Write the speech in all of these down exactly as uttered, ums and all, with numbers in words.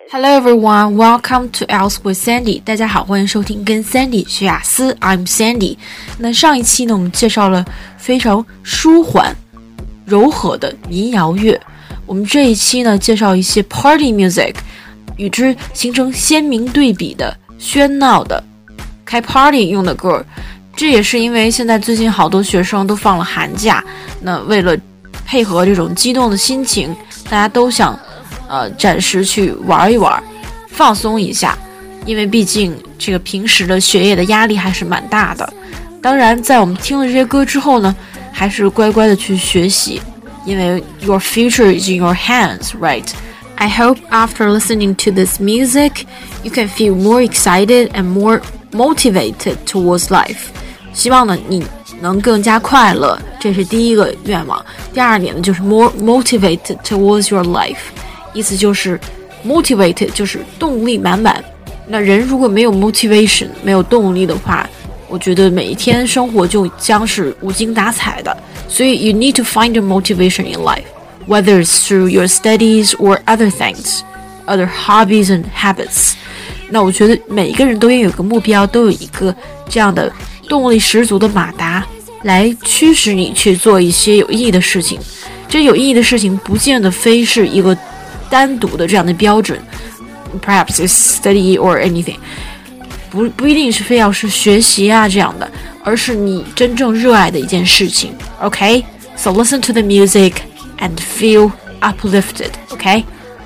Hello everyone, welcome to Else with Sandy. 大家好，欢迎收听跟 Sandy 学雅思 I'm Sandy. 那上一期呢，我们介绍了非常舒缓、柔和的民谣乐。我们这一期呢，介绍一些 Party music， 与之形成鲜明对比的喧闹的开 Party 用的歌。这也是因为现在最近好多学生都放了寒假，那为了配合这种激动的心情，大家都想呃，暂时去玩一玩，放松一下，因为毕竟这个平时的学业的压力还是蛮大的。当然，在我们听了这些歌之后呢，还是乖乖的去学习，因为 your future is in your hands, right? I hope after listening to this music, you can feel more excited and more motivated towards life. 希望呢，你能更加快乐，这是第一个愿望。第二点呢，就是 more motivated towards your life。意思就是 motivated 就是动力满满，那人如果没有 motivation 没有动力的话，我觉得每一天生活就将是无精打采的。所以 you need to find your motivation in life, whether it's through your studies or other things, other hobbies and habits. 那我觉得每一个人都应有个目标，都有一个这样的动力十足的马达来驱使你去做一些有意义的事情。这有意义的事情不见得非是一个单独的这样的标准 perhaps it's study or anything 不, 不一定是非要是学习啊这样的，而是你真正热爱的一件事情。 OK, so listen to the music and feel uplifted. OK,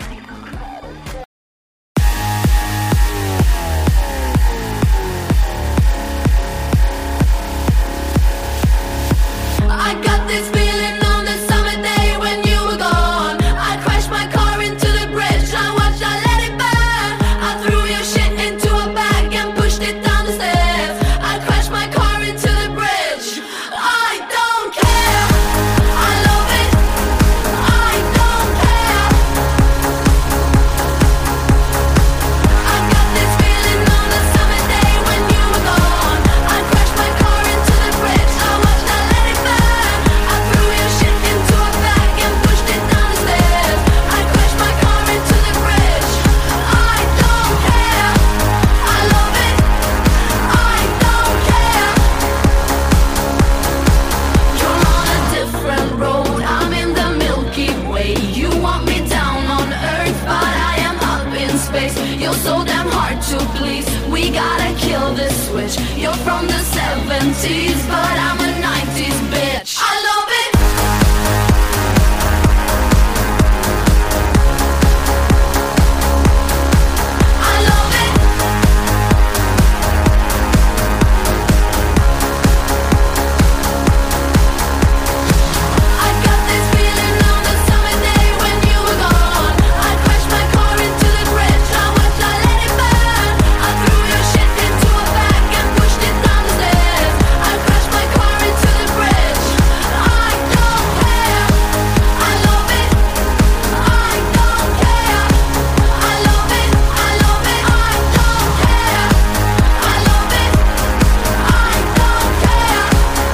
so damn hard to please. We gotta kill this switch. You're from the seventies, but I'm a nineties bitch. I love it. I love it. I got this feeling on the summer day when you were gone. I crashed my car into the bridge. I watched, I let it burn. I threw your shit into a bag and pushed it down the stairs. I crashed my car into the bridge. I don't care. I love it. I don't care. I love it. I love it. I don't care. I love it. I don't care.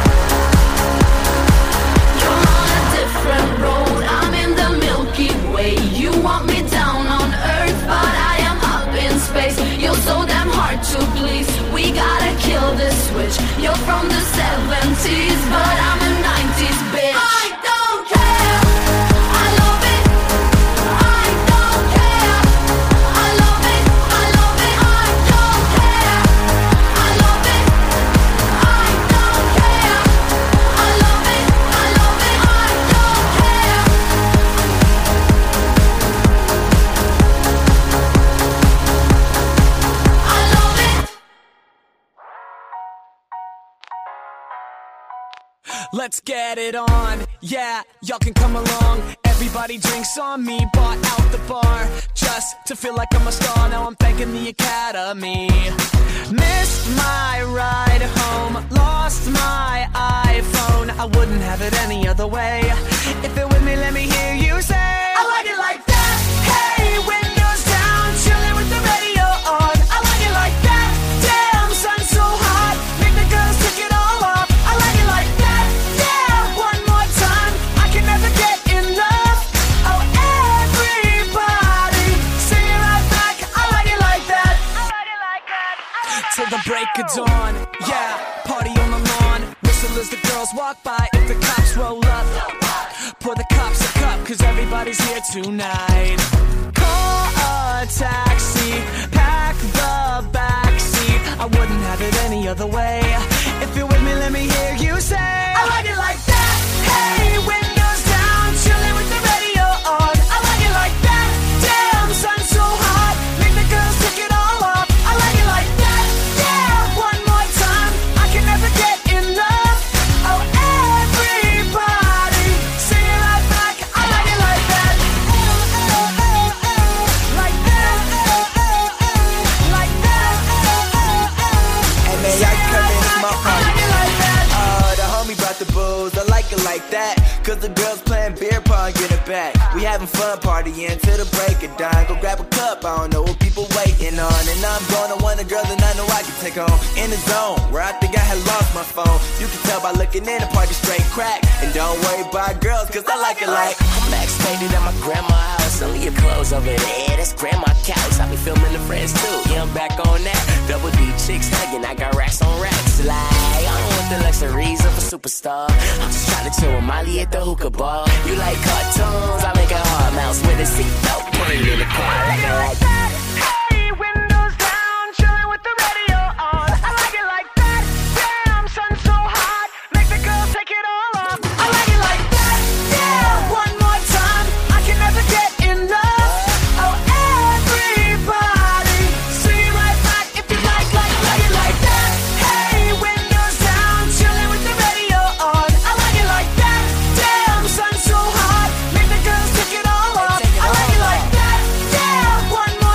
You're on a different road. I'm in the Milky Way. You want me down on Earth, but I am up in space. You're so damn hard to please. We gotta kill this switch. You're from the seventies, but I'm a nineties bitch. I don't care. I love it. I don't care. I love it. I love it. I don't care. I love it. I don't care. I love it. I love it. I don't care. I love it. Let's get it on, yeah, y'all can come along. Everybody drinks on me, bought out the bar just to feel like I'm a star. Now I'm thanking the academy. Missed my ride home, lost my iPhone. I wouldn't have it any other way. If you're with me, let me hear you say I like it like that. Hey, windows down, chilling with the radio on. I like it like that. Damn, sun's so hot, make the girls take it all off. I like it like that. Yeah, one more time, I can never get enough. Oh, everybody, sing it like that. till the break of dawn. Yeah, party on the lawn. Whistle as the girls walk by. If the cops roll up, pour the cops a cup, cause everybody's here tonight. Call a taxi, pack the backseat. I wouldn't have it any other way. If you're with me, let me hear you say, I like it like that. Hey, windows down, chilling with the radio on. I like it like that. Damn, sun so hot, make the girls take it all off. I like it like that. Yeah, one more time, I can never get enough. Oh, everybody, sing it right back. I like it like that. Like that. Like that. And then y'all come in my party. Oh, the homie brought the booze. I like it like that. Cause the girls playing beer pong, get it back. We having fun partying till the break of dawn. Go grab a cup, I don't know what people waiting on. And I'm going to one of the girls that I know I can take home. In the zone, where I think I had lost my phone. You can tell by looking in, the party straight crack. And don't worry about girls, cause I like it like I'm backstage at my grandma's house. Only your clothes over there, that's grandma couch. I be filming the friends too, yeah, I'm back on that. Double D chicks hugging, I got racks on racks. Like, I don't want the luxuries of a superstar. I'm just trying to chill with Molly at the hookah bar. You like cartoons, I make a hard mouse with a seatbelt. Put it in the car, I like it like that. Hey, windows down, chilling with the radio on. I like it like that. Damn, sun so hot, make the girls take it all off. I like it like that. Yeah, one more time, I can never get enough. Oh, everybody, sing it right back if you like, like, like it like that. Hey, windows down, chilling with the radio on. I like it like that. Damn, sun so hot, make the girls take it all off. I like it like that. Yeah, one more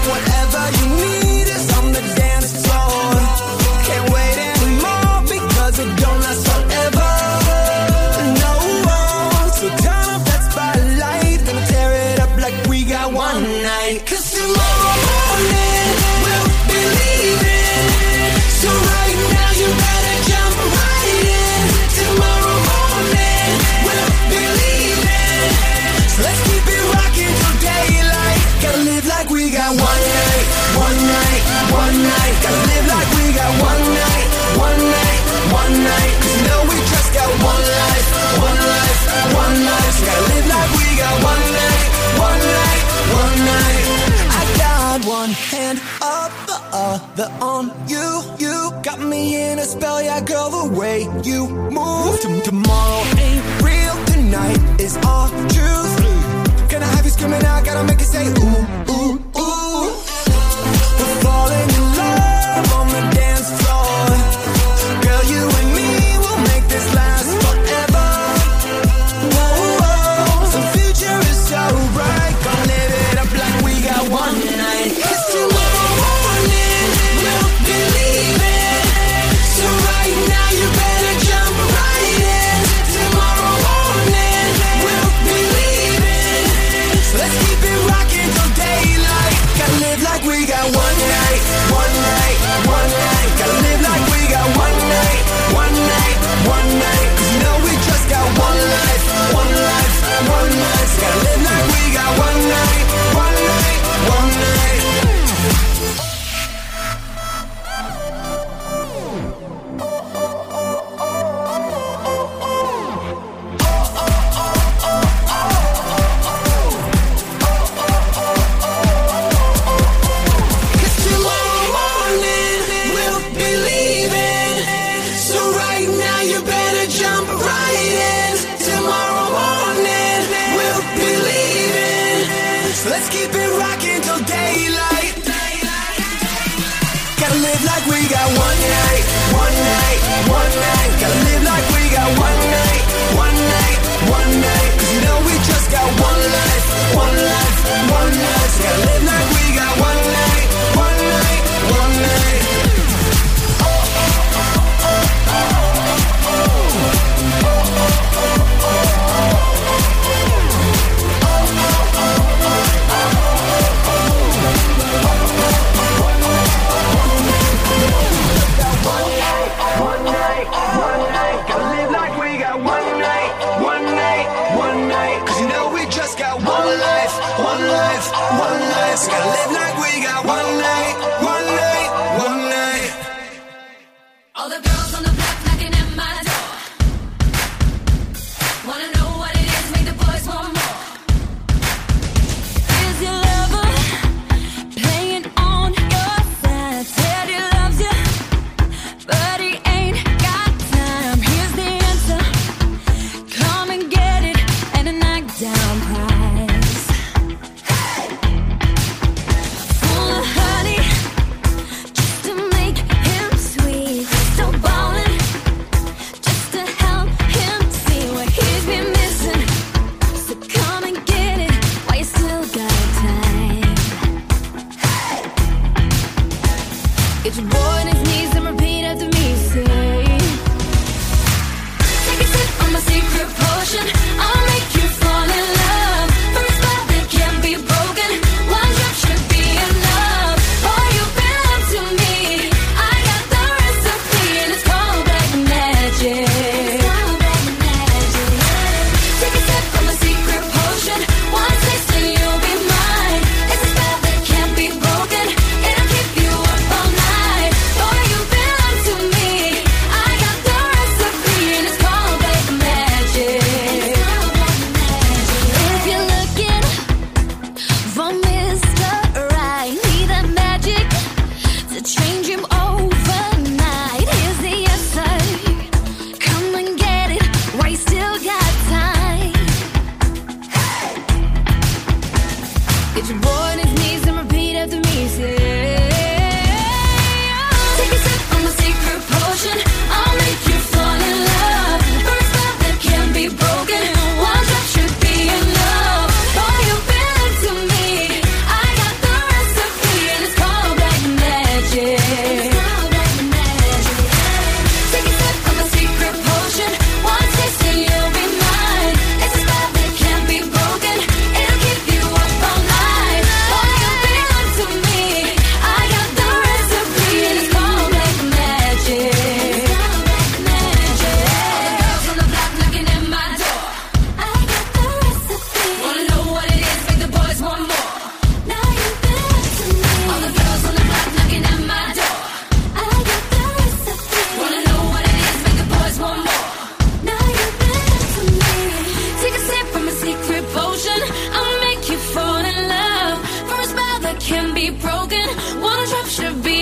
Whatever you need is on the dance floor. Can't wait anymore because it don't last forever. No, so turn up that spotlight, gonna tear it up like we got one night. 'Cause tomorrow morning we'll be leaving. So right now you better jump right in. Tomorrow morning we'll be leaving. So let's keep it rocking till daylight. Gotta live like we got one night, one night, one night. Gotta live like we got one night, one night, one night. 'Cause you know we just got one life, one life, one life. So gotta live like we got one night, one night, one night. I got one hand up, the other on you. You got me in a spell, yeah, girl, the way you move. T- tomorrow ain't real, tonight is our truth. Can I have you screaming out, gotta make you say ooh, ooh, ooh. We're falling in love on the dance floor. Girl, you and me will make this last forever. Whoa, whoa, the future is so bright. Gonna live it up like we got one night. 'Cause tomorrow morning we'll be leaving. So right now you better jump right in. Tomorrow morning we'll be leaving. So let's keep it rocking till daylight. Gotta live like we got one night, one night, one night. Gotta live like we got one night, one night, one night. 'Cause you know we just got one life, one life, one life. So gotta live like we got one night, one night, one night. Let's keep it rocking till daylight. Gotta live like we got one night, one night, one night. Gotta live like we got one night, one night, one night. 'Cause you know we just got one life, one life, one life. So gotta live like we got one night, one night, one night. One life, so gotta live like we got one night, one night, one night. All the girls on the block knocking at my door. Wanna know what it is, make the boys want more. Is your lover playing on your side? Said he loves you, but he ain't got time. Here's the answer, come and get it, and a knockdown prize. Full of honey, just to make him sweet. So ballin', just to help him see what he's been missing. So come and get it while you still got time. Get your boy on his knees and repeat after me, say. Take a sip of my secret potion, I'll make you fall in love. For a spell that can't be broken, one drop should be enough. Boy, you've been up to me, I got the recipe, and it's called black magic. Take a sip of my secret potion, one taste and you'll be mine. It's a spell that can't be broken, it'll keep you up all night. can be broken. Wanna drop should be